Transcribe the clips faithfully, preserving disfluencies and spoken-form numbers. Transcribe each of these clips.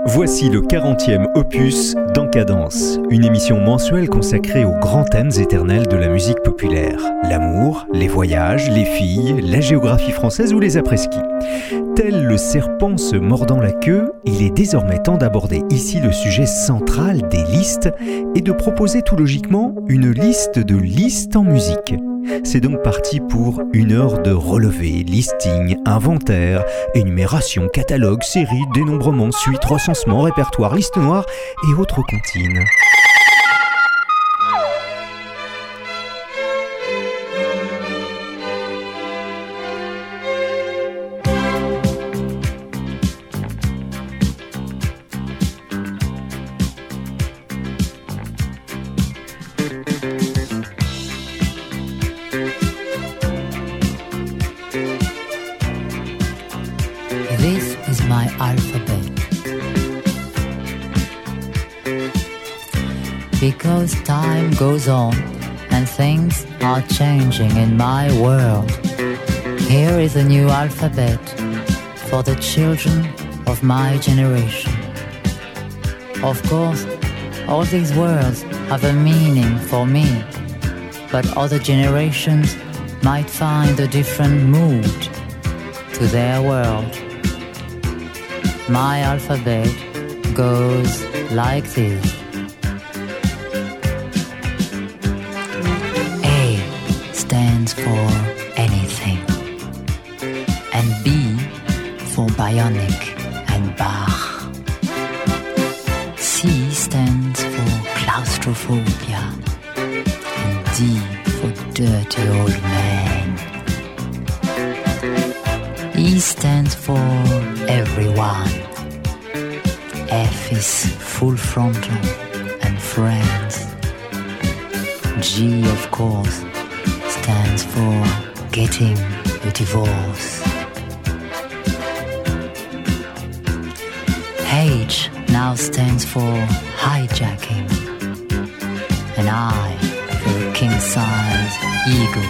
Voici le quarantième opus d'Encadence, une émission mensuelle consacrée aux grands thèmes éternels de la musique populaire. L'amour, les voyages, les filles, la géographie française ou les après-ski. Tel le serpent se mordant la queue, il est désormais temps d'aborder ici le sujet central des listes et de proposer tout logiquement une liste de listes en musique. C'est donc parti pour une heure de relevé, listing, inventaire, énumération, catalogue, série, dénombrement, suite, recensement, répertoire, liste noire et autres comptines. Because time goes on and things are changing in my world. Here is a new alphabet for the children of my generation. Of course, all these words have a meaning for me, but other generations might find a different mood to their world. My alphabet goes like this. Stands for anything, and B for bionic and Bach. C stands for claustrophobia, and D for dirty old man. E stands for everyone. F is full frontal and friends. G, of course, stands for getting a divorce. H now stands for hijacking, and I for a king-size eagle.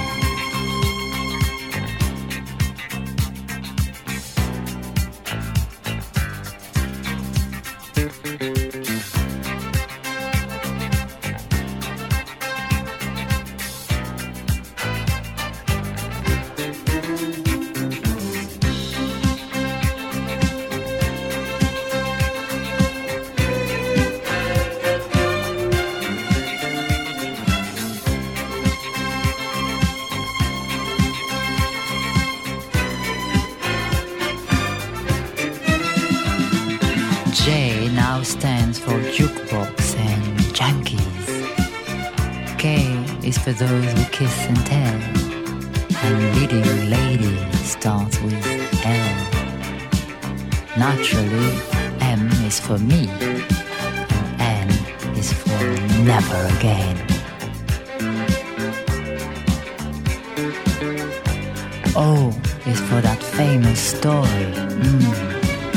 J now stands for jukebox and junkies. K is for those who kiss and tell, and leading lady starts with L. Naturally, M is for me, and N is for never again. O is for that famous story. Mm.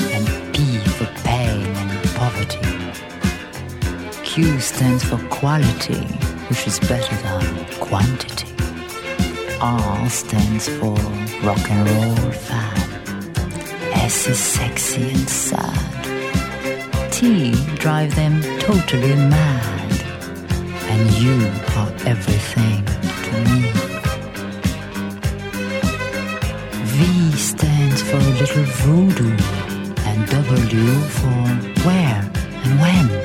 Q stands for quality, which is better than quantity. R stands for rock and roll fan. S is sexy and sad. T drive them totally mad. And you are everything to me. V stands for a little voodoo, and W for where and when.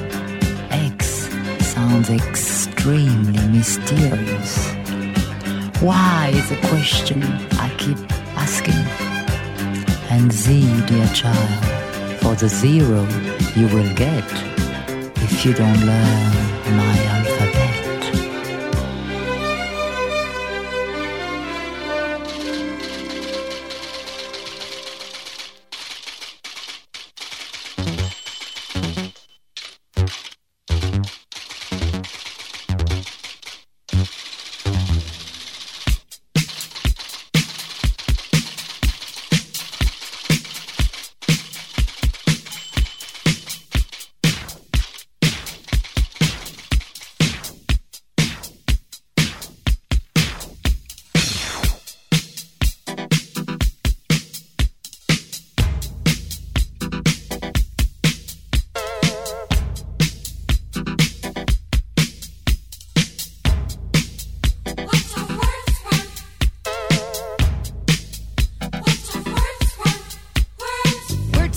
Sounds extremely mysterious. Why is a question I keep asking. And Z, dear child, for the zero you will get if you don't learn my alphabet.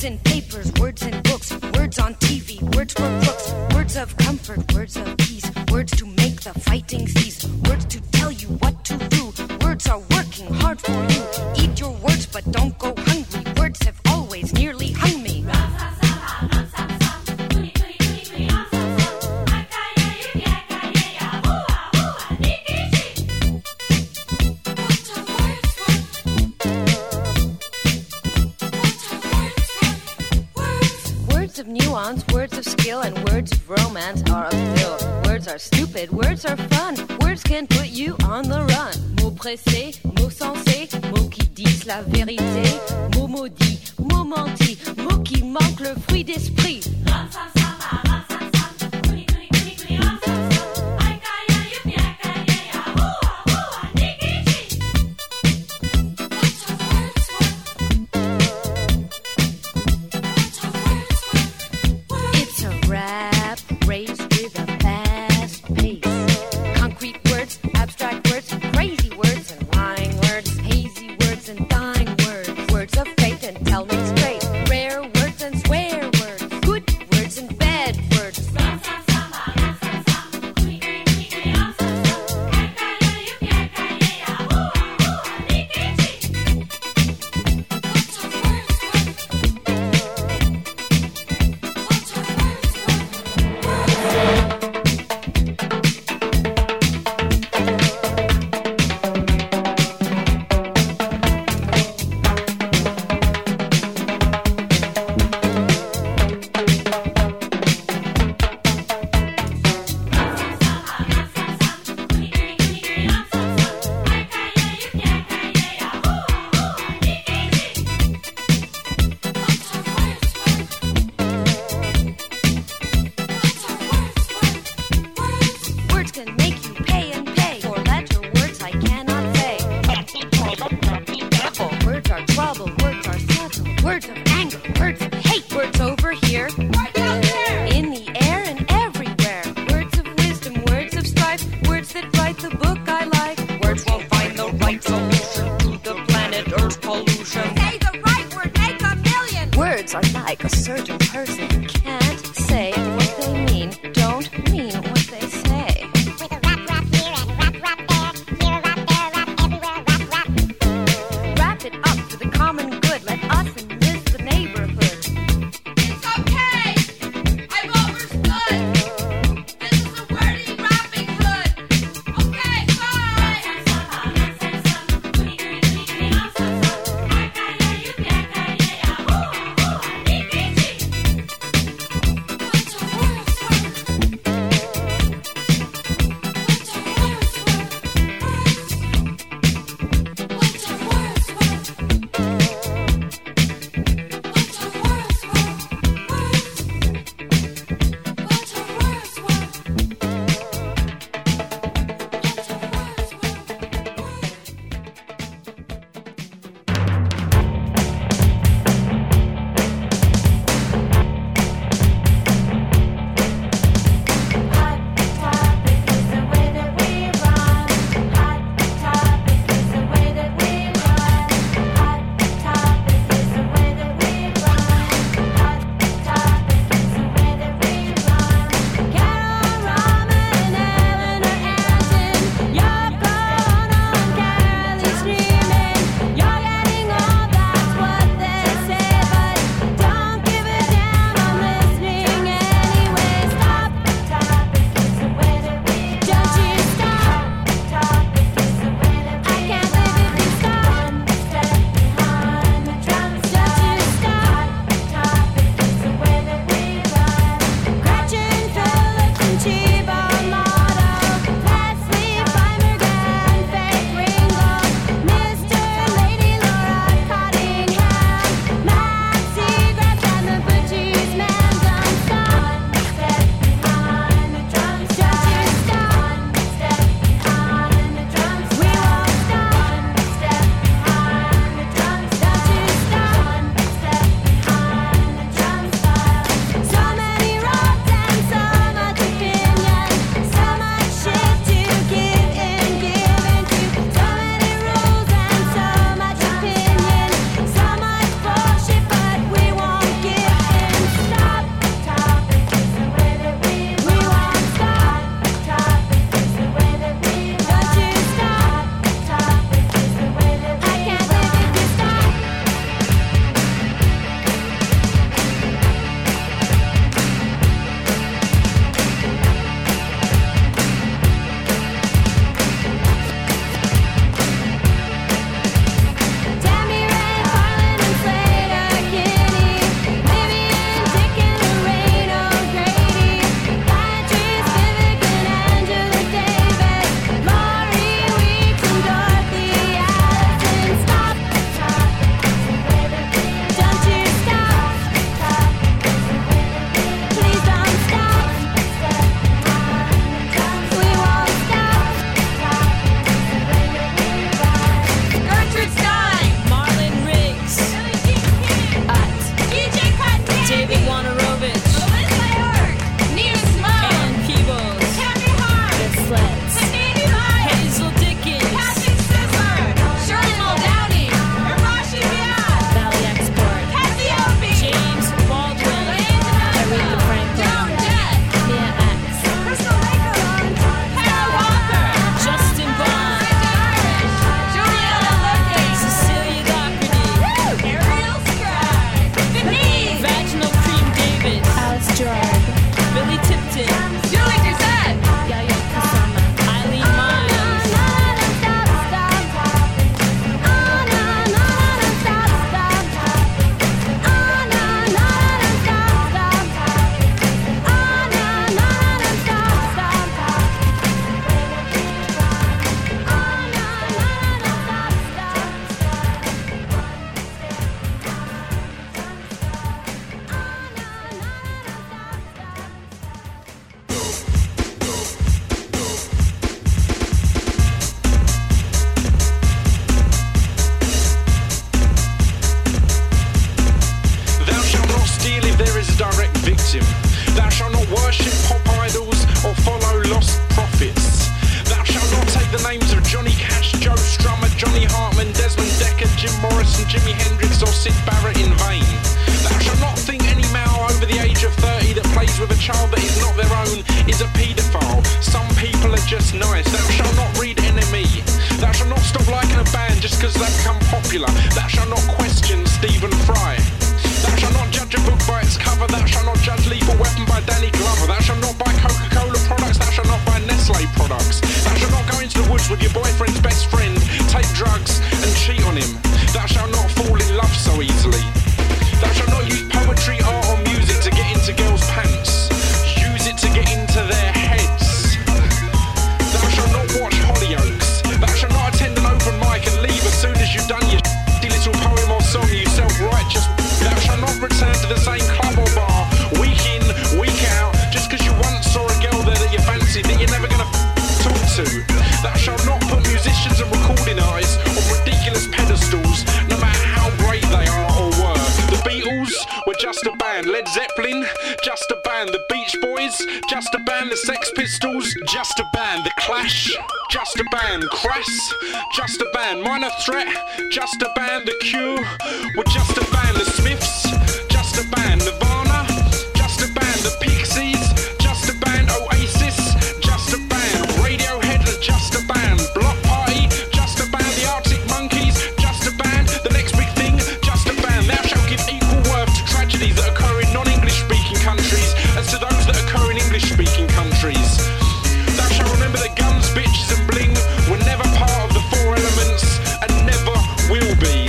Words in papers, words in books, words on T V, words for crooks, words of comfort, words of peace, words to make the fighting cease, words to tell you what to do. Words are working hard for you. Eat your words, but don't go hungry. Words have always nearly hung me. Words of nuance, words of skill, and words of romance are a pill. Words are stupid, words are fun. Words can put you on the run. Mots pressés, mots sensés, mots qui disent la vérité. Mots maudits, mots mentis, mots qui manquent le fruit d'esprit. Jimi Hendrix or Syd Barrett in vain. Thou shalt not think any male over the age of thirty that plays with a child that is not their own is a paedophile. Some people are just nice. Thou shalt not read N M E. Thou shalt not stop liking a band just because they've become popular. Thou shalt not question Stephen Fry. Thou shalt not judge a book by its cover. Thou shalt not judge Lethal Weapon by Danny Glover. Thou shalt not buy Coca-Cola products. Thou shalt not buy Nestle products. Thou shalt not go into the woods with your boyfriend's best friend, take drugs and cheat on him. Thou shalt not fall in love so easily. Thou shalt not use poetry, art or music to get into girls' pants. Use it to get into their heads. Thou shalt not watch Hollyoaks. Thou shalt not attend an open mic and leave as soon as you've done your shitty little poem or song, you self-righteous. Thou shalt not return to the same club or bar week in, week out, just because you once saw a girl there that you fancied that you're never going to talk to. Thou shalt not put musicians and recording artists on ridiculous pedestals, no matter how great they are or were. The Beatles were just a band. Led Zeppelin, just a band. The Beach Boys, just a band. The Sex Pistols, just a band. The Clash, just a band. Crass, just a band. Minor Threat, just a band. The Cure were just a band. The Smiths, just a band. Nirvana, just a band. The Pixies, just a band. Oasis, just a band. Radiohead, just a band. Block Party, just a band. The Arctic Monkeys, just a band. The Next Big Thing, just a band. Thou shalt give equal worth to tragedies that occur in non-English speaking countries as to those that occur in English speaking countries. Thou shalt remember that guns, bitches and bling were never part of the four elements and never will be.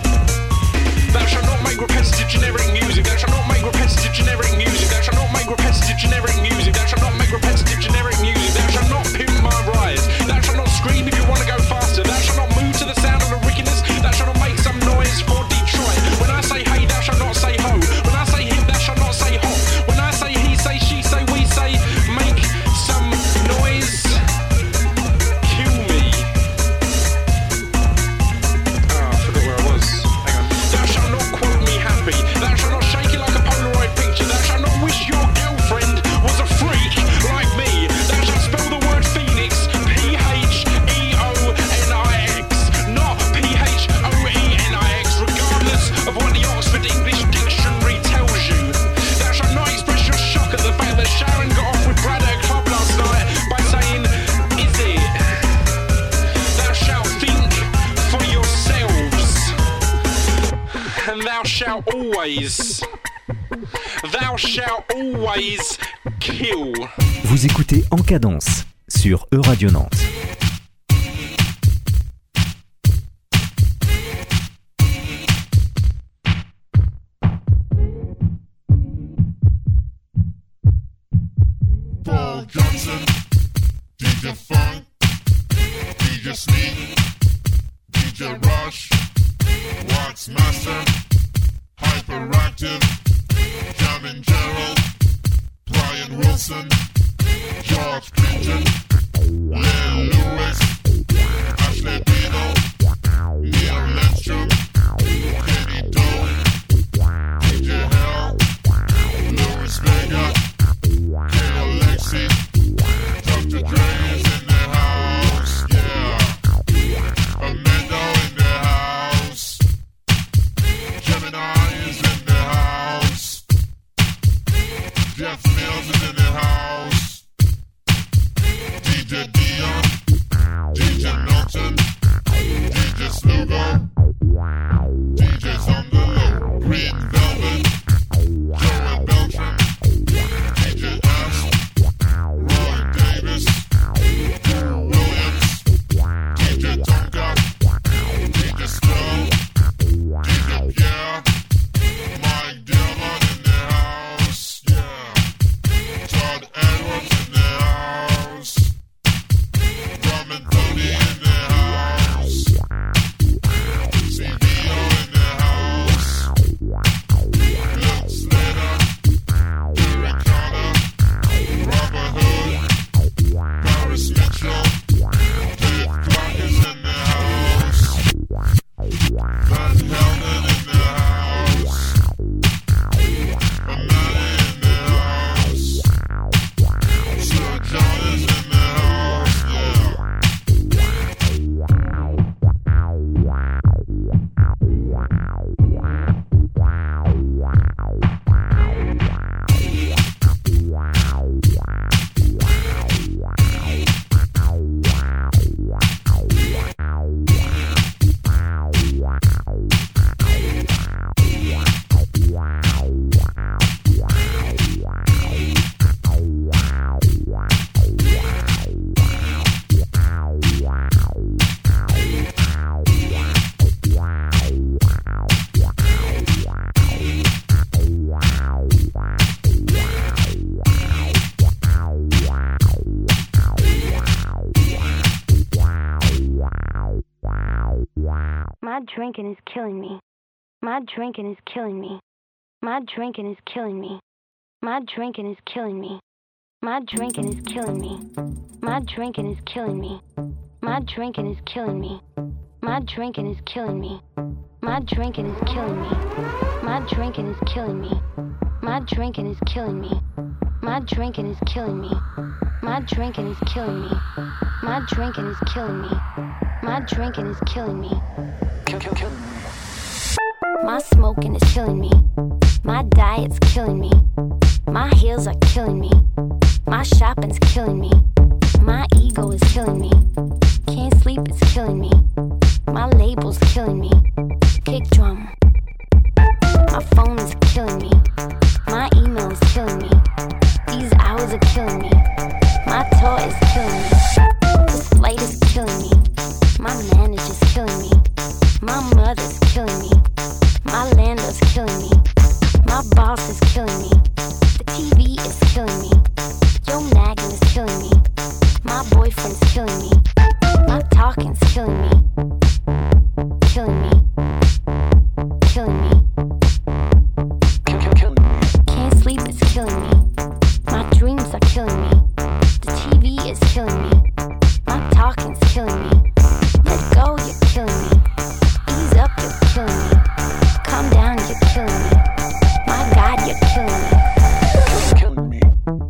Thou shalt not make repetitive generic music. Thou shalt not make repetitive generic music. Thou shalt not make repetitive generic music. Thou shalt not make repetitive generic music. Thou shalt not pimp my ride. Thou shalt not scream if you want to go faster. Thou shalt not move to the sound of the wickedness. Thou shalt not make some noise for Detroit. When I say hey, thou shalt not say ho. When I say him, thou shalt not say hop. When I say he, say she, say we, say make some noise. Kill me. Oh, I forgot where I was. Hang on. Thou shalt not quote me happy. Thou shalt not shake it like a Polaroid picture. Thou shalt not wish your girlfriend was a freak like me. Thou shalt spell the word Phoenix P H E O N I X, not P H O E N I X, regardless of what the Oxford English Dictionary tells you. Thou shalt not express your shock at the fact that Sharon got off with Brad at a club last night by saying, is it? Thou shalt think for yourselves. And thou shalt always, thou shalt always kill. Vous écoutez En Cadence sur E-Radio Nantes. Paul Johnson, D J Funk, D J Sneak, D J Rush, Wax Master, Hyperactive, Jamin Gerald, Brian Wilson, George Clinton, Len Lewis, Ashley Dino, Neil Lindstrom, Kenny Doe, D J Hell, Louis Vega, K Alexi, Doctor Dre is in the house, yeah. Amanda in the house, Gemini is in the house, Jeff Mills is in the house, D J Dion, D J Milton, D J Slugo, drinking is killing me. My drinking is killing me. My drinking is killing me. My drinking is killing me. My drinking is killing me. My drinking is killing me. My drinking is killing me. My drinking is killing me. My drinking is killing me. My drinking is killing me. My drinking is killing me. My drinking is killing me. My drinking is killing me. My drinking is killing me. My drinking is killing me. Kill, kill, kill. My smoking is killing me. My diet's killing me. My heels are killing me. My shopping's killing me. My ego is killing me. Can't sleep, it's killing me. My label's killing me. Kick drum. My phone is killing me. My email is killing me. These hours are killing me. My toy is killing me. This flight is killing me. My manager's killing me. My mother's killing me. My landlord's killing me. My boss is killing me. The T V is killing me. Your nagging is killing me. My boyfriend's killing me. My talking's killing me. Killing me. Killing me. Kill, kill, kill. Can't sleep, it's killing me. My dreams are killing me. The T V is killing me. My talking's killing me. Let go, you're killing me. Ease up, you're killing me. Calm down, you're killing me. My God, you're killing me. You're killing me.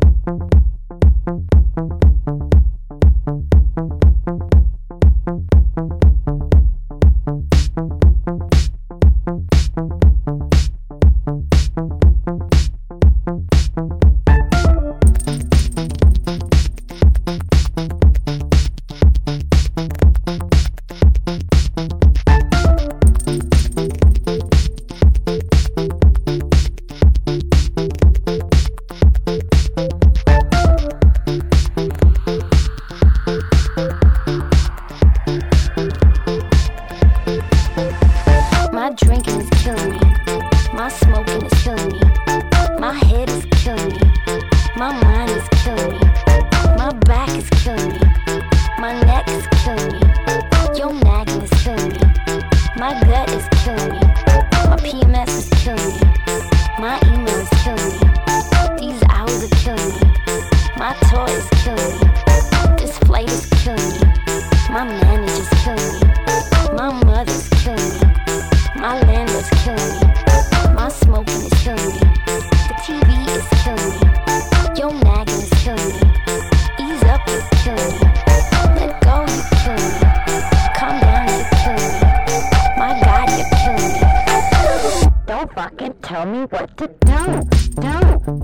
My drinking is killing me. My smoking is killing me. My head is killing me. My mind is killing me. My back is killing me. My neck is killing me. Your nagging is killing me. My gut is killing me. My P M S is killing me. My email is killing me. These hours are killing me. My toy is killing me. This flight is killing me. My manager's killing me. My mother's killing me. My landlord's killing me. My smoking is killing me. The T V is killing me. Your nagging is killing me. Ease up, you're killing me. Let go, you're killing me. Calm down, you're killing me. My God, you're killing me. Don't fucking tell me what to do. Do.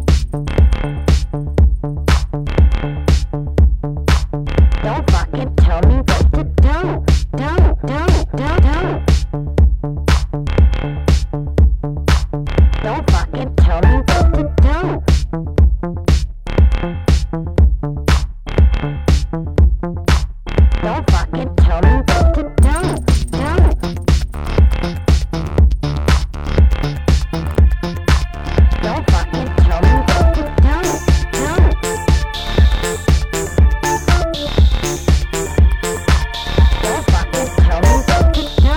Don't fucking tell me what to do. Do, do, do, do. Don't fucking tell me what to do. Don't fucking tell me what to do. Do. Don't fucking tell me what to do. Do. Don't fucking tell me what to do.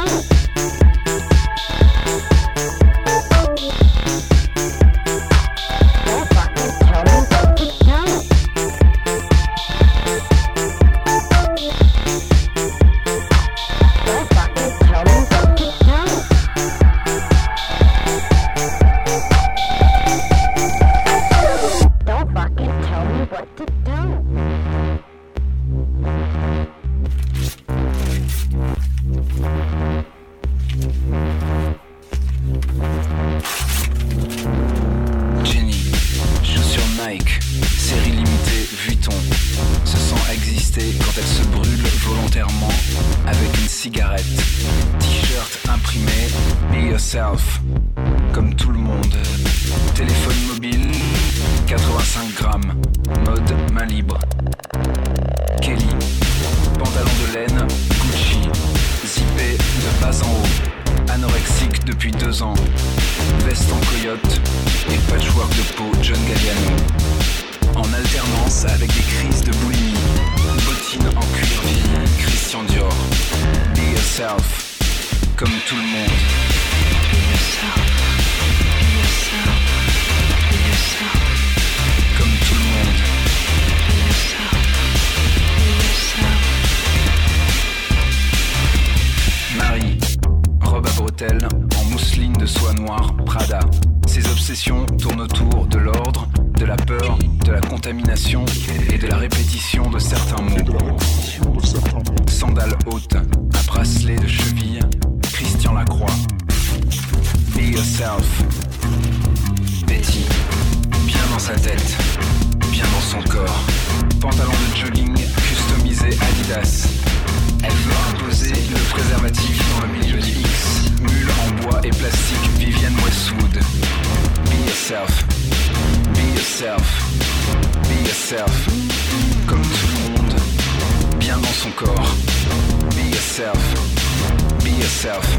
Don't fucking tell me what to do. Don't fucking tell me what to do. Don't fucking tell me what to do. Jenny, chaussures Nike, série limitée Vuitton, se sent exister quand elle se brûle volontairement avec une cigarette. T-shirt imprimé, be yourself, comme tout le monde. Téléphone mobile, quatre-vingt-cinq grammes, mode main libre. Kelly, pantalon de laine, Gucci, zippé de bas en haut, anorexique depuis deux ans, veste en coyote et patchwork de peau John Galliano. En alternance avec des crises de boulimie, bottines en cuir vieilli Christian Dior. Be yourself, comme tout le monde. Comme tout le monde. Marie, robe à bretelles, en mousseline de soie noire, Prada. Ses obsessions tournent autour de l'ordre, de la peur, de la contamination et de la répétition de certains mots. Sandales hautes, à bracelet de cheville, Christian Lacroix. Be yourself. Betty, bien dans sa tête, bien dans son corps. Pantalon de jogging customisé Adidas. Elle veut imposer le préservatif dans le milieu du X. Mule en bois et plastique Vivienne Westwood. Be yourself. Be yourself. Be yourself. Comme tout le monde, bien dans son corps. Be yourself. Be yourself.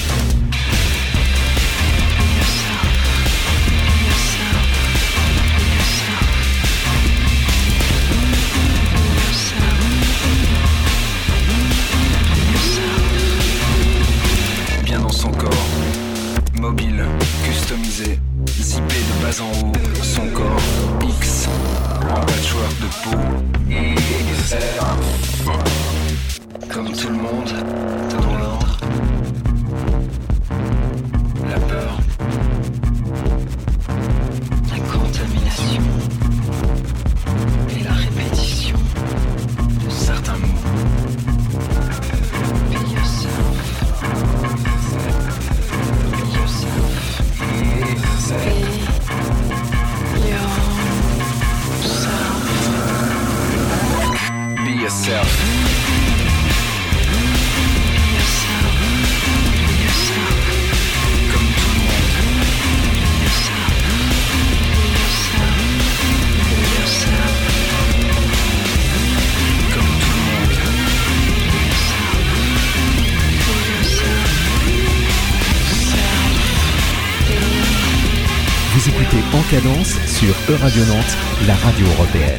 Bien dans son corps, mobile, customisé, zippé de bas en haut, son corps X, en patchwork de peau. Comme tout le monde, dans l'ordre, la peur, la contamination et la répétition de certains mots. Be yourself. Be yourself. Be yourself. Comme tout le monde. Comme tout le monde. Vous écoutez En Cadence sur E-Radio Nantes, la radio européenne.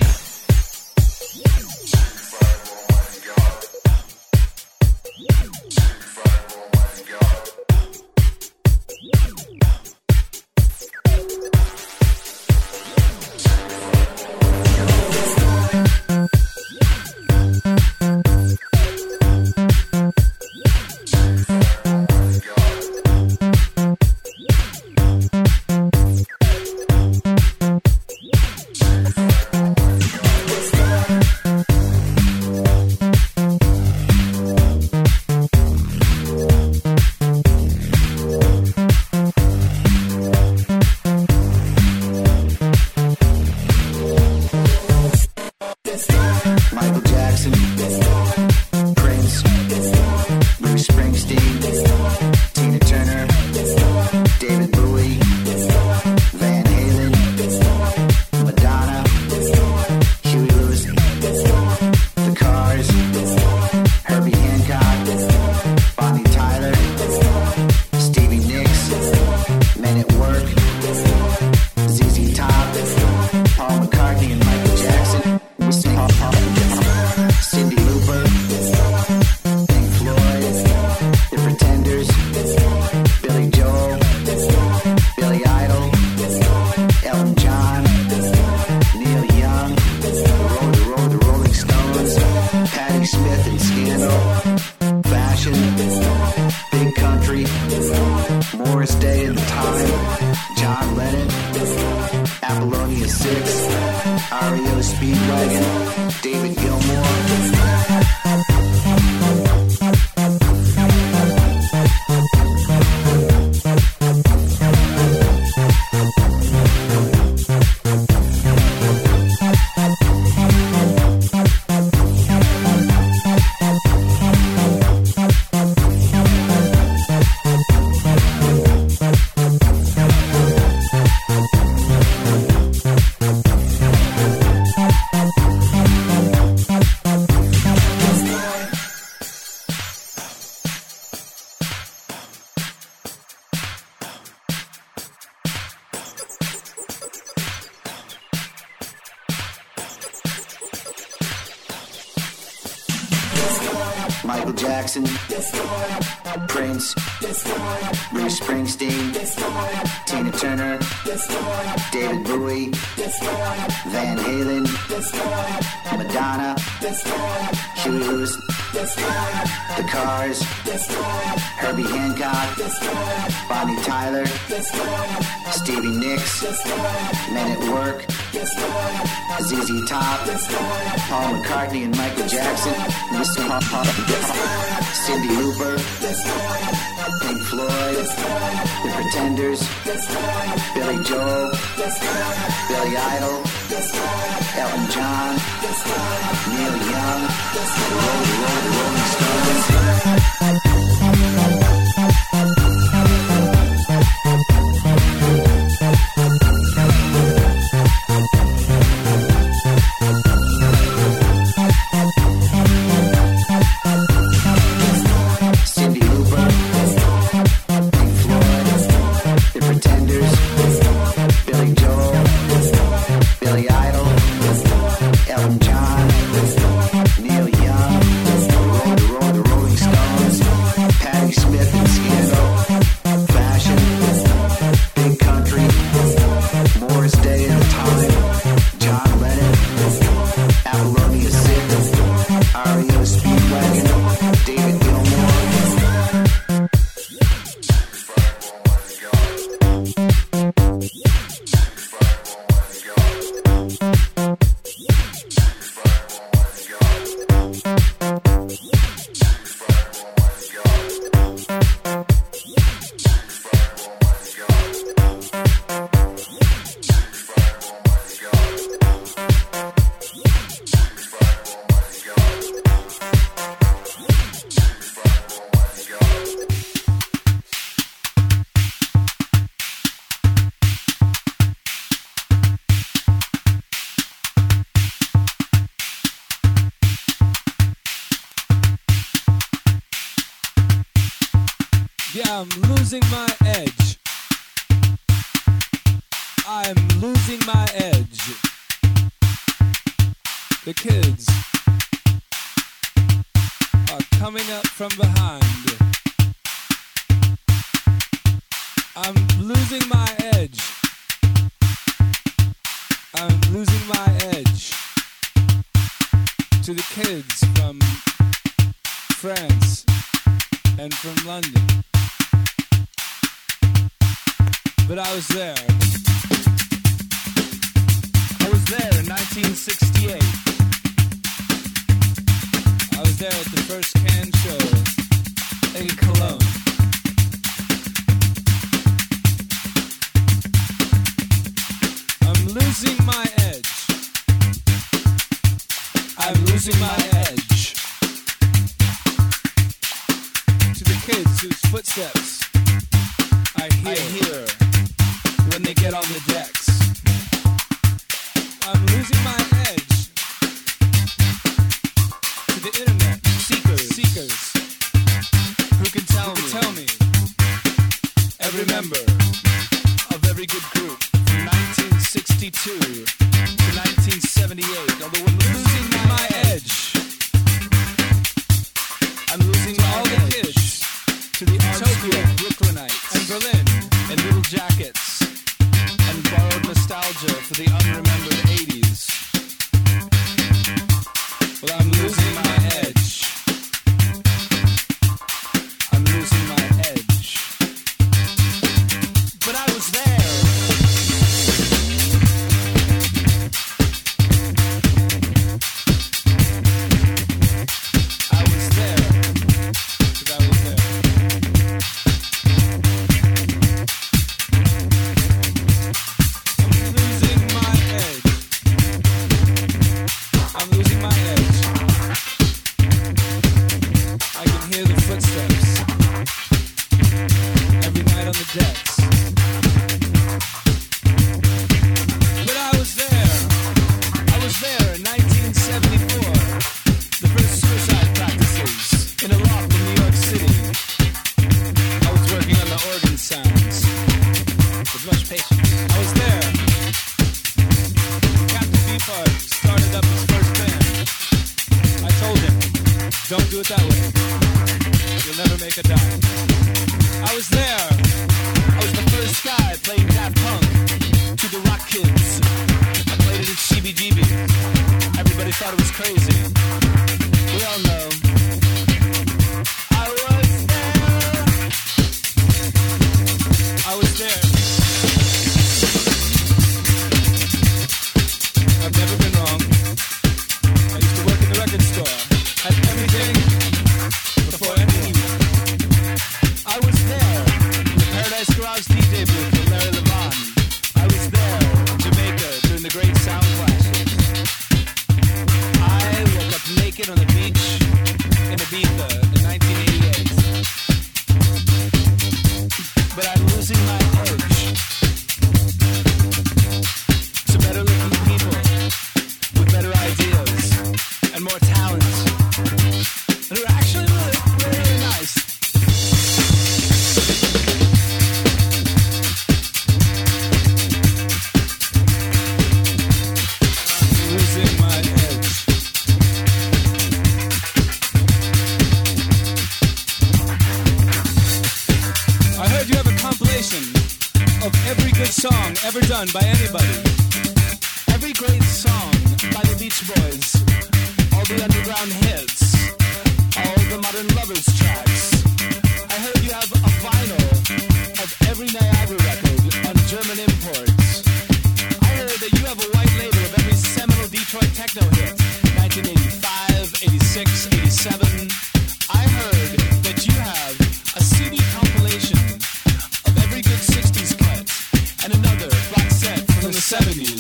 Michael Jackson, Prince, Bruce Springsteen, Tina Turner, David Bowie, Van Halen, Madonna, Huey Lewis, The Cars, Herbie Hancock, Bonnie Tyler, Stevie Nicks, Men at Work, Z Z Top, Paul McCartney and Michael Jackson, Mister Pop Pop, Cyndi Lauper, Pink Floyd, The Pretenders, Billy Joel, Billy Idol, Elton John, Neil Young, the Rolling, Rolling, Rolling Stones. Yeah, I'm losing my edge. I'm losing my edge. The kids are coming up from behind. I'm losing my edge. I'm losing my edge to the kids from France and from London. But I was there. I was there in nineteen sixty-eight. I was there at the first Cannes show in Cologne. I'm losing my edge. I'm losing my edge to the kids whose footsteps I hear, I hear when they get on the decks. I'm losing my edge to the internet seekers, seekers who can tell, who can me, tell me every member of every good group from nineteen sixty-two to nineteen seventy-eight. Although I'm losing my edge, I'm losing all the kids to the Tokyo Brooklynites and Berlin and Little Jackets and borrowed nostalgia for the unremembered eighties. Well, I'm losing my edge. I'm losing my edge. But I was there. I was there. Because I was there. I'm losing my edge. booth with Larry Levan. I was there in Jamaica during the great sound clashes. I woke up naked on the beach in Ibiza in nineteen eighty-eight. But I'm losing my edge to better looking people with better ideas and more talent, and who are actually really, really, really nice. I'm losing my edge. I heard you have a compilation of every good song ever done by anybody. Every great song by the Beach Boys, all the underground hits, all the modern lovers tracks. I heard you have a vinyl of every Niagara record on German imports. I heard that you have a white label of every seminal Detroit techno hit, nineteen eighty-five, eighty-six, eighty-seven. I heard that you have a C D compilation of every good sixties cut and another box set from the seventies.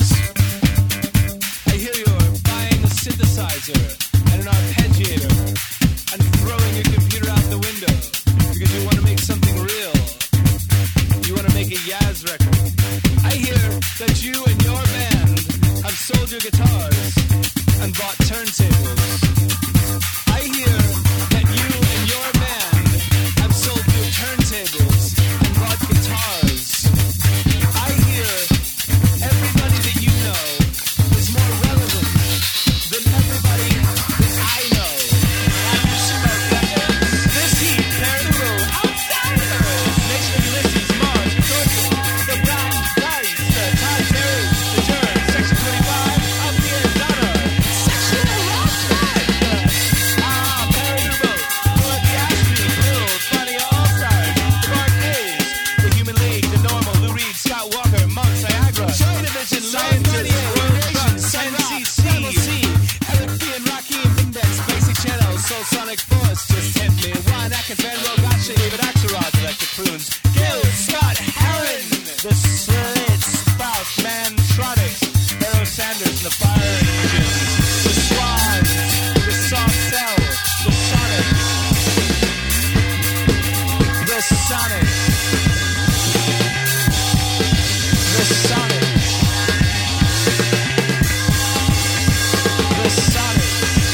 I hear you're buying a synthesizer and an arpeggiator and throwing your computer out the window because you want to make something real. You want to make a Yaz record. I hear that you and your band have sold your guitars and bought turntables. I hear that you and your band have sold your turntables and bought guitars. I hear everybody that you know is more relevant than everybody that I know. And you smell that. This heat, clear the room. Outsiders! Nation of Ulysses, Mars, Turkey, the Brown Dice, the Todd Terry, the Turn, Section twenty-five, up here, Donna, Sexual Rockside. Ah, Perry the Road, Lord Gatsby, Little, Funny All-Stars, the Barcades, the Human League, the Normal, Lou Reed, Scott Walker, Monks, Niagara, Joy Division, Lion thirty-eight, World Truck, N C C, Eric B. and Rakim, Index, Basic Channel, Soul Sonic Force, Just Hit Me, Ryan Atkins, Van Roll, Gotcha, David Axelrod, Electric Prunes, Gil, Scott, Heron, The Slit, Spout, Mantronics, Barrow Sanders, and the Fire Engines, The Swans, The Soft Cell, The Sonics, The Sonics, The Sonics, The Sonics.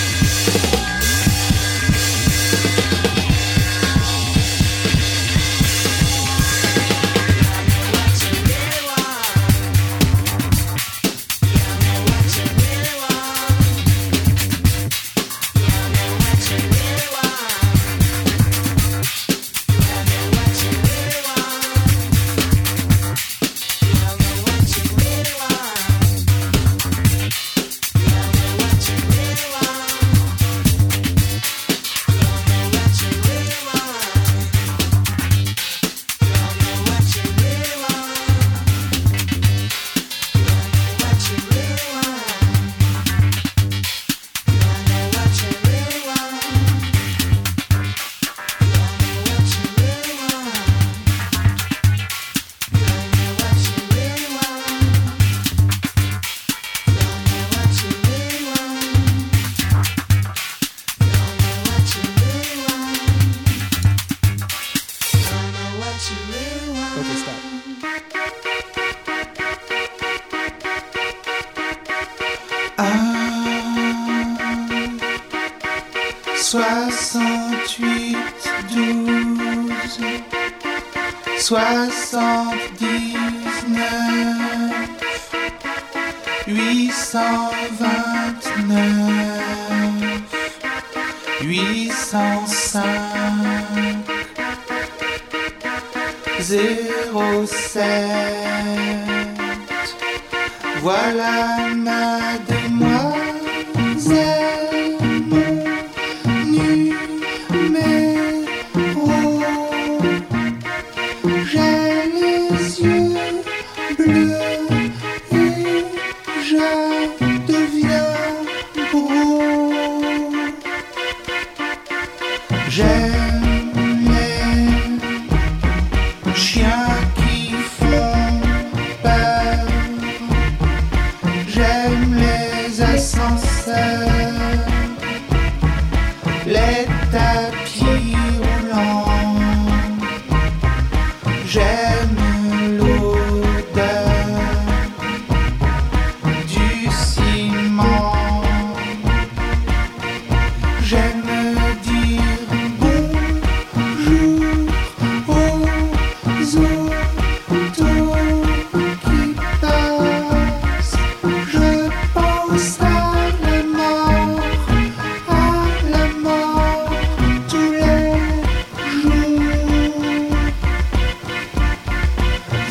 Okay, stop. soixante-huit, douze, soixante-dix-neuf, huit cent vingt-neuf, huit cent cinq, zéro sept. Voilà ma demoiselle, mon numéro. J'ai les yeux bleus et je deviens gros. J'aime les chiens qui font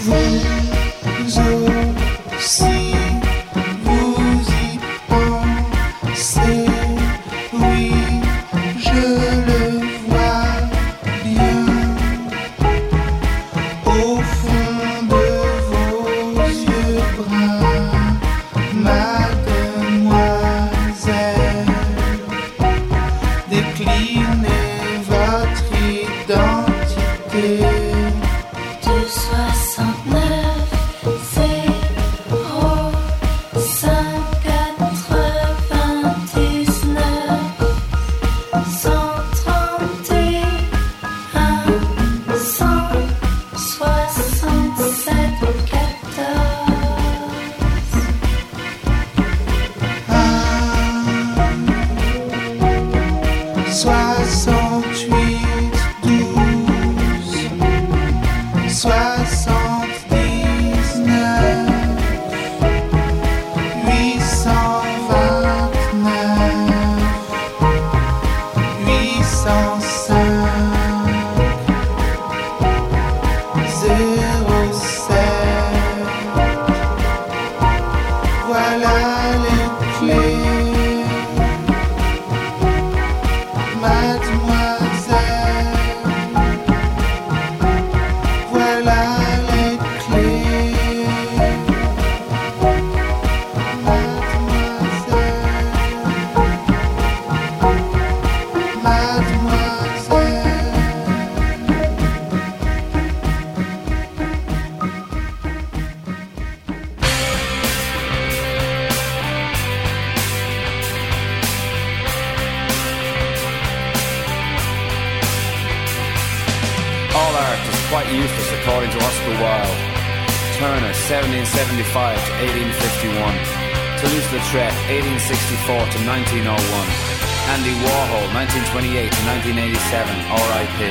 seventeen seventy-five to eighteen fifty-one. Toulouse-Lautrec, eighteen sixty-four to nineteen oh one. Andy Warhol, nineteen twenty-eight to nineteen eighty-seven, R I P.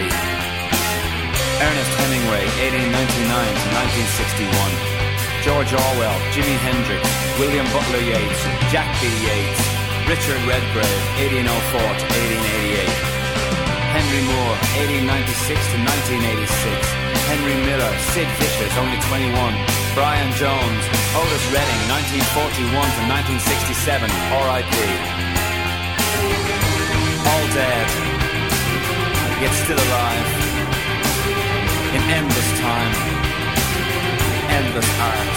Ernest Hemingway, eighteen ninety-nine to nineteen sixty-one. George Orwell, Jimi Hendrix, William Butler Yeats, Jack B. Yeats. Richard Redgrave, eighteen oh four to eighteen eighty-eight. Henry Moore, eighteen ninety-six to nineteen eighty-six. Henry Miller, Sid Vicious, only twenty-one. Brian Jones, Otis Redding, nineteen forty-one to nineteen sixty-seven, R I P. All dead, yet still alive. In endless time, endless art.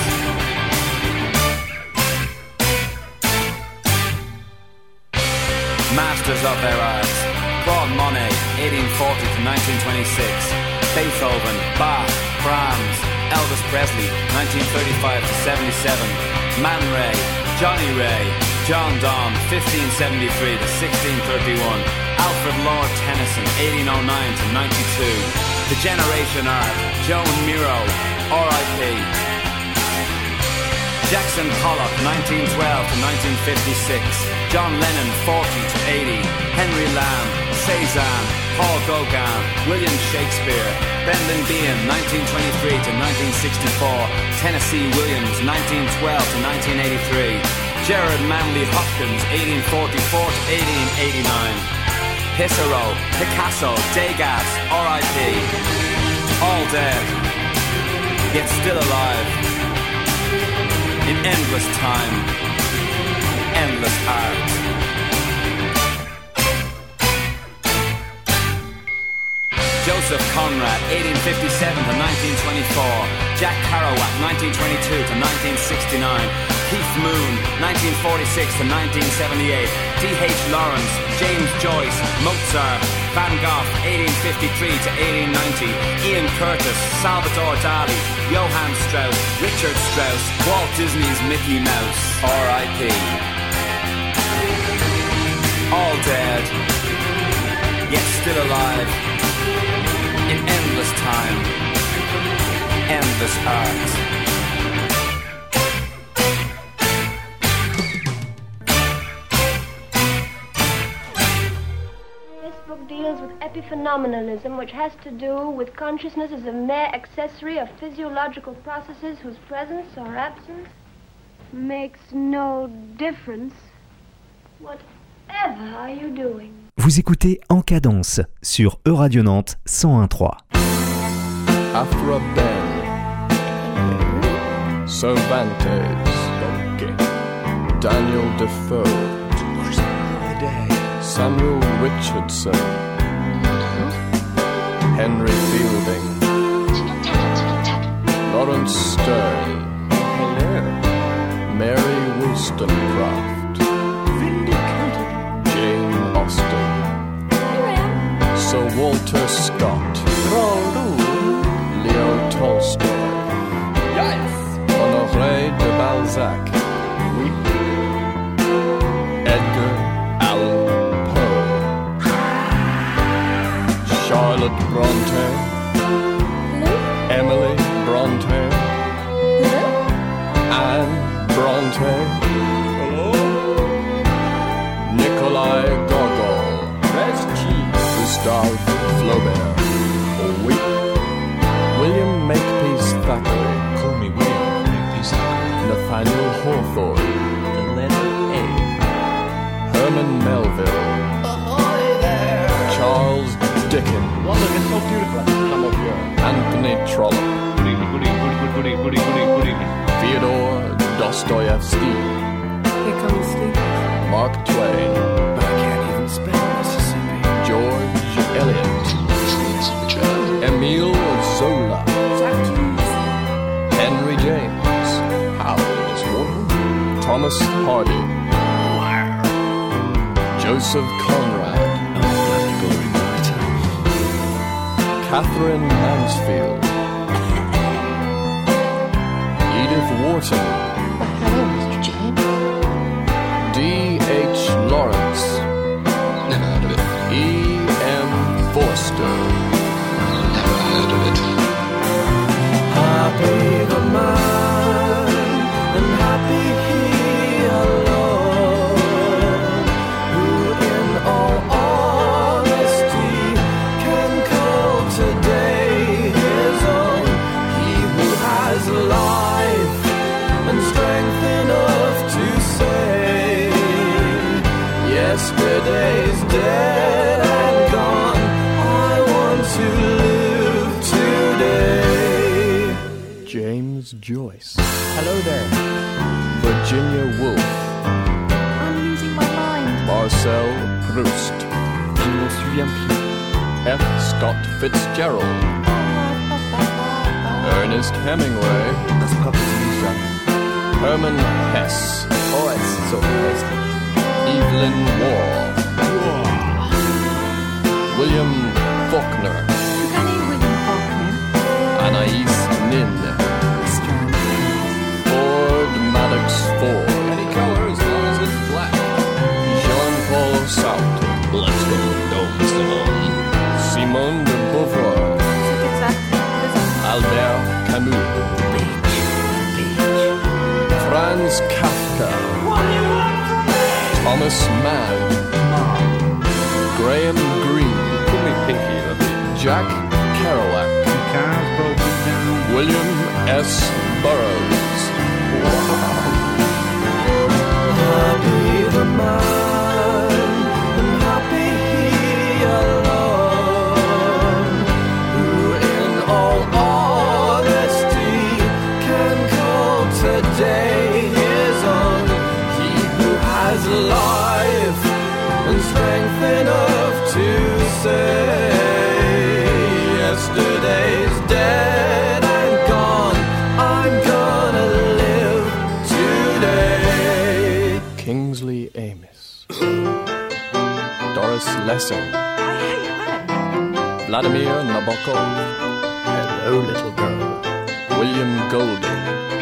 Masters of their art. Claude Monet, eighteen forty to nineteen twenty-six. Beethoven, Bach, Brahms, Elvis Presley, nineteen thirty-five to seventy-seven. Man Ray, Johnny Ray, John Donne, fifteen seventy-three to sixteen thirty-one. Alfred Lord Tennyson, eighteen oh nine to ninety-two. The Generation Art, Joan Miro, R I P. Jackson Pollock, nineteen twelve to nineteen fifty-six. John Lennon, forty to eighty. Henry Lamb, Cézanne, Paul Gauguin, William Shakespeare. Brendan Behan, nineteen twenty-three to nineteen sixty-four. Tennessee Williams, nineteen twelve to nineteen eighty-three. Gerard Manley Hopkins, eighteen forty-four to eighteen eighty-nine. Pissarro, Picasso, Degas, R I P. All dead, yet still alive. In endless time, endless art. Joseph Conrad, eighteen fifty-seven to nineteen twenty-four. Jack Kerouac, nineteen twenty-two to nineteen sixty-nine. Keith Moon, nineteen forty-six to nineteen seventy-eight. D H Lawrence, James Joyce, Mozart, Van Gogh, eighteen fifty-three to eighteen ninety. Ian Curtis, Salvador Dali, Johann Strauss, Richard Strauss, Walt Disney's Mickey Mouse, R I P. All dead, yet still alive. In endless time, endless art. This book deals with epiphenomenalism, which has to do with consciousness as a mere accessory of physiological processes whose presence or absence makes no difference. Whatever are you doing? Vous écoutez En Cadence sur E-Radio Nantes cent un virgule trois. Afro Bell. Cervantes, okay. Daniel Defoe, Samuel Richardson, Henry Fielding, Lawrence Stern, Mary Wollstonecraft, Jane Austen, Sir Walter Scott, Leo Tolstoy, Honoré de Balzac, Edgar Allan Poe, Charlotte Bronte, Emily Bronte, Anne Bronte, Nikolai Gogol, Gustave Flaubert, oui. William Makepeace Thackeray, call me William Makepeace Thackeray, Nathaniel Hawthorne, the letter A, Herman Melville, ahoy there, Charles Dickens, well, look, it's so beautiful. Come up here. Anthony Trollope, good evening, good evening, good evening, good evening, good evening, Fyodor Dostoevsky, here comes Steve, Mark Twain, but I can't even spell Mississippi, George Eliot, Emile Zola, Henry James, Howard is Warden, Thomas Hardy, Joseph Conrad, Catherine Mansfield, Edith Wharton, hello, Mister James, D H Lawrence, never heard of it, E M Forster, never heard of it. Happy the man, and happy he alone, who in all honesty can call today his own. He who has life and strength enough to say, yesterday's dead and gone, I want to live today. James Joyce. Hello there. Virginia Woolf. I'm losing my mind. Marcel Proust. Je me souviens plus. F. Scott Fitzgerald. Ernest Hemingway. Das Papa Lisa. Herman Hesse. Oh, it's so tasty. Evelyn Waugh. William Faulkner. You can eat William Faulkner. Anais Nin. Ford Maddox Ford. Any color as long as it's black. Jean-Paul Sartre. Let's go, Mister Bond. Simone de Beauvoir. Albert Camus. Beach, beach. Franz Kafka. What do you want from me? Thomas Mann. Mom. Graham Greene. Call me Pinky, Jack Kerouac. The car's broken down. William S. Burroughs. Wow. Happy the man, and happy he alone, who in all honesty can call today his own. He who has life and strength enough to say, yesterday's dead and gone, I'm gonna live today. Kingsley Amis. Doris Lessing. Vladimir Nabokov. Hello, little girl. William Golding.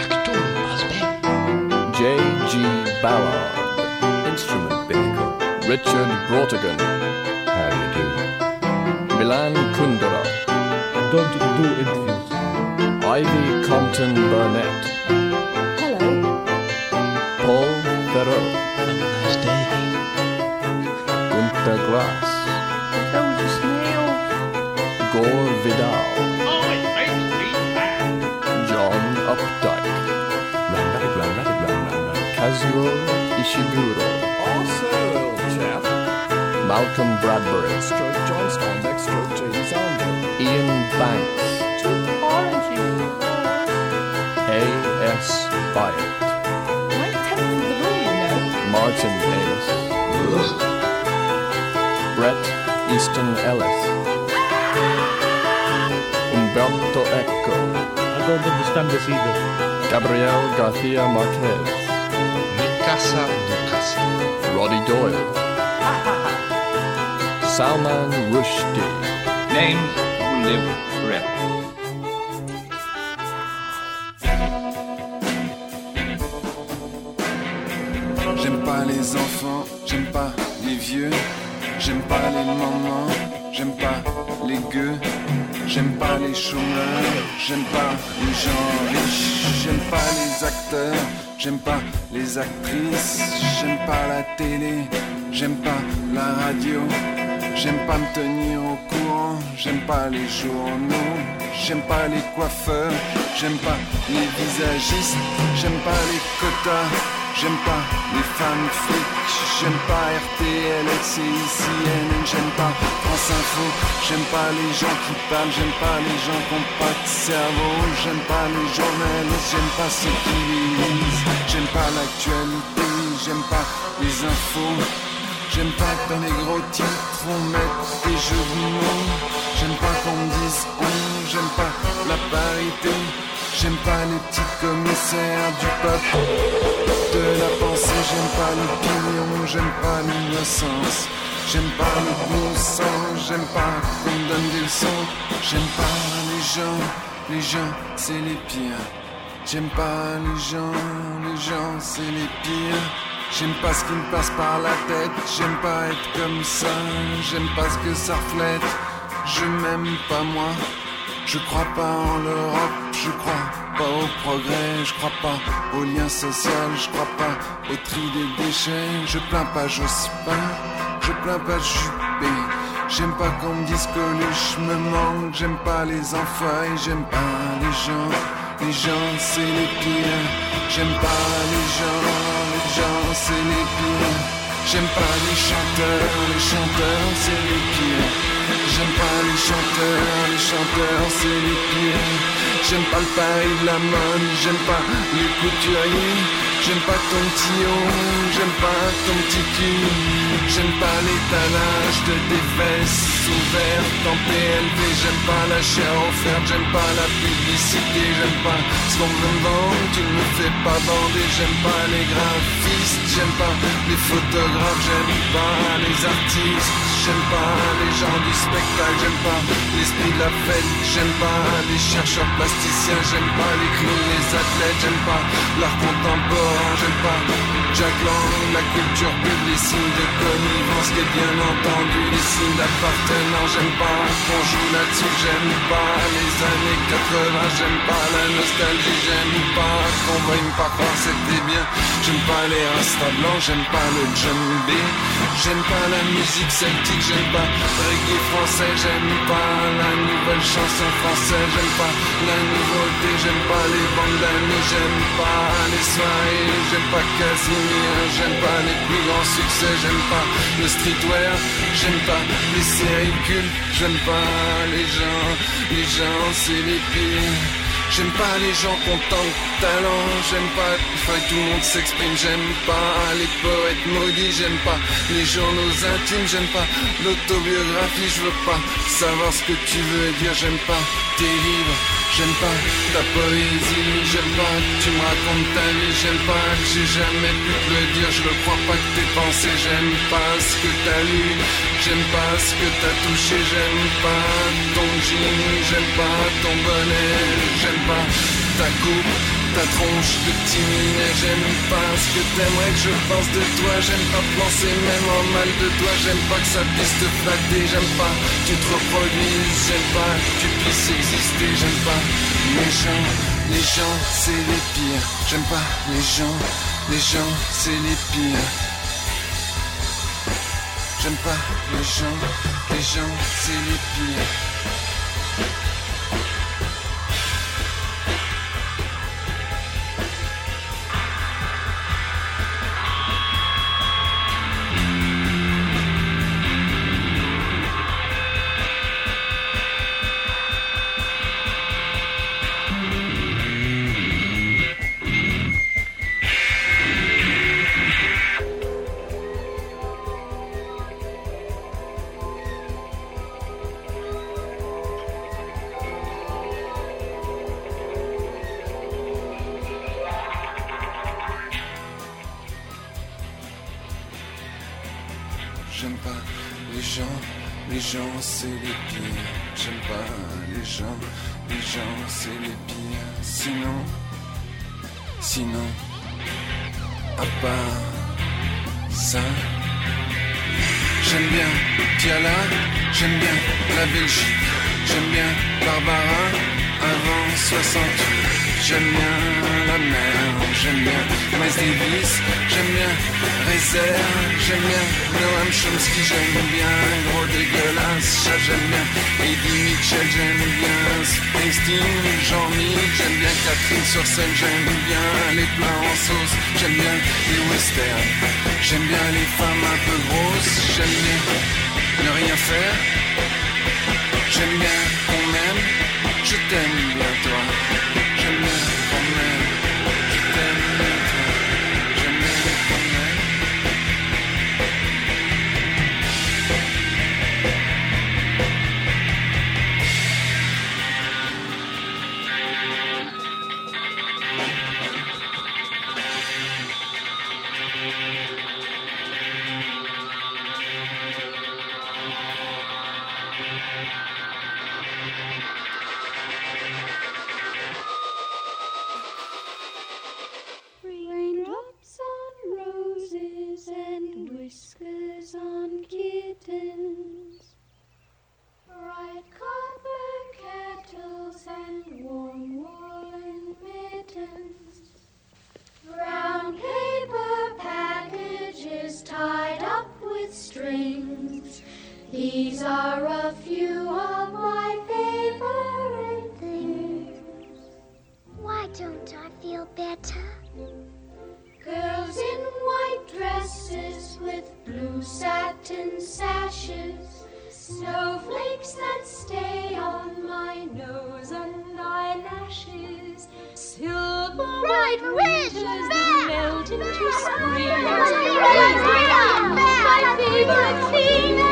J G Ballard. Instrument Binnacle. Richard Brautigan. How do you do? Milan Kundera. I don't do interviews. Ivy Compton Burnett. Hello. Paul Theroux. Have a nice day. Gunter Grass. That was a snail. Gore Vidal. Oh, it makes me mad. John Updike. Run, run, run, run, run, run, run. Kazuo Ishiguro. Also, chap. Malcolm Bradbury. Stroke Johnstone. Next stroke J D Sandler. Ian Banks. Two oranges. A S buy it. Right tenth of the rule, you know. Martin Amis. Brett Easton Ellis. Umberto Eco. I don't understand this either. Gabriel Garcia Marquez. Mikasa Dukasa. Roddy Doyle. Salman Rushdie. Names who live forever. J'aime pas les enfants, j'aime pas les vieux, j'aime pas les mamans, j'aime pas les gueux, j'aime pas les chômeurs, j'aime pas les gens riches, j'aime pas les acteurs, j'aime pas les actrices, j'aime pas la télé, j'aime pas la radio, j'aime pas me tenir au courant, j'aime pas les journaux, j'aime pas les coiffeurs, j'aime pas les visagistes, j'aime pas les quotas. J'aime pas les femmes flics, j'aime pas R T L, C I C N, j'aime pas France Info, j'aime pas les gens qui parlent, j'aime pas les gens qui ont pas de cerveau, j'aime pas les journalistes, j'aime pas ceux qui lisent, j'aime pas l'actualité, j'aime pas les infos, j'aime pas que dans les gros titres on mette des jeux de mots, j'aime pas qu'on me dise on, j'aime pas la parité. J'aime pas les petits commissaires du peuple, de la pensée, j'aime pas l'opinion, j'aime pas l'innocence, j'aime pas le bon sang, j'aime pas qu'on me donne des leçons, j'aime pas les gens, les gens c'est les pires, j'aime pas les gens, les gens c'est les pires, j'aime pas ce qui me passe par la tête, j'aime pas être comme ça, j'aime pas ce que ça reflète, je m'aime pas moi. Je crois pas en l'Europe, je crois pas au progrès, je crois pas au lien social, je crois pas au tri des déchets, je plains pas Jospin, je plains pas Juppé, j'aime pas qu'on me dise que Coluche me manque, j'aime pas les enfoirés, j'aime pas les gens, les gens c'est les pires, j'aime pas les gens, les gens c'est les pires, j'aime pas les chanteurs, les chanteurs c'est les pires. J'aime pas les chanteurs, les chanteurs c'est les pires. J'aime pas le Paris de la mode, j'aime pas les couturiers. J'aime pas ton petit haut, j'aime pas ton petit cul. J'aime pas l'étalage de tes fesses ouvertes en P L V. J'aime pas la chair offerte, j'aime pas la publicité. J'aime pas ce qu'on me vend, tu ne me fais pas bander. J'aime pas les graphistes, j'aime pas les photographes. J'aime pas les artistes, j'aime pas les gens du spectacle. J'aime pas l'esprit de la fête, j'aime pas les chercheurs plasticiens. J'aime pas les clowns, les athlètes. J'aime pas l'art contemporain, j'aime pas Jack Lang, la culture pub, les signes de connivence, et bien entendu les signes d'appartenance. J'aime pas qu'on joue là-dessus, j'aime pas les années quatre-vingts, j'aime pas la nostalgie, j'aime pas qu'on veuille me pas croire c'était bien. J'aime pas les rastas blancs, j'aime pas le djembé, j'aime pas la musique celtique, j'aime pas le reggae français, j'aime pas la nouvelle chanson française, j'aime pas la nouveauté, j'aime pas les bandes d'amis, j'aime pas les soirées, j'aime pas Casimir, j'aime pas les plus grands succès, j'aime pas le streetwear, j'aime pas les séries cultes, j'aime pas les gens, les gens c'est les pires. J'aime pas les gens qui ont tant de talent, j'aime pas il faut que tout le monde s'exprime, j'aime pas les poètes maudits, j'aime pas les journaux intimes, j'aime pas l'autobiographie, je veux pas savoir ce que tu veux dire, j'aime pas tes livres, j'aime pas ta poésie, j'aime pas que tu me racontes ta vie, j'aime pas que j'ai jamais pu te le dire, je ne crois pas que t'es pensé, j'aime pas ce que t'as lu, j'aime pas ce que t'as touché, j'aime pas ton jean, j'aime pas ton bonnet, j'aime pas ta coupe, ta tronche de petit minet, j'aime pas ce que t'aimerais que je pense de toi, j'aime pas penser même en mal de toi, j'aime pas que ça puisse te flatter, j'aime pas que tu te reproduises, j'aime pas que tu puisses exister, j'aime pas les gens, les gens c'est les pires, j'aime pas les gens, les gens c'est les pires, j'aime pas les gens, les gens c'est les pires. Les gens, les gens, c'est les pires. J'aime pas les gens, les gens, c'est les pires. Sinon, sinon, à part ça, j'aime bien Tiala, j'aime bien la Belgique, j'aime bien Barbara avant soixante-huit. J'aime bien la mer, j'aime bien Miles Davis, j'aime bien Rezer, j'aime bien Noam Chomsky, j'aime bien Gros dégueulasse, ça j'aime bien Eddie Mitchell, j'aime bien Springsteen, Jean-Michel, j'aime bien Catherine sur scène, j'aime bien les plats en sauce, j'aime bien les westerns, j'aime bien les femmes un peu grosses, j'aime bien ne rien faire, j'aime bien qu'on m'aime, je t'aime bien toi. J'aime bien quand même, je t'aime bien toi. J'aime bien quand même. These are a few of my favorite things. Why don't I feel better? Girls in white dresses with blue satin sashes, snowflakes that stay on my nose and eyelashes, silver Right, winters Rich, that back. melt into spring. Back. My favorite thing.